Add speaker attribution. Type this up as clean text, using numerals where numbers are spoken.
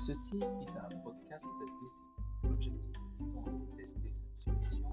Speaker 1: Ceci est un podcast d'essai, l'objectif étant de tester cette solution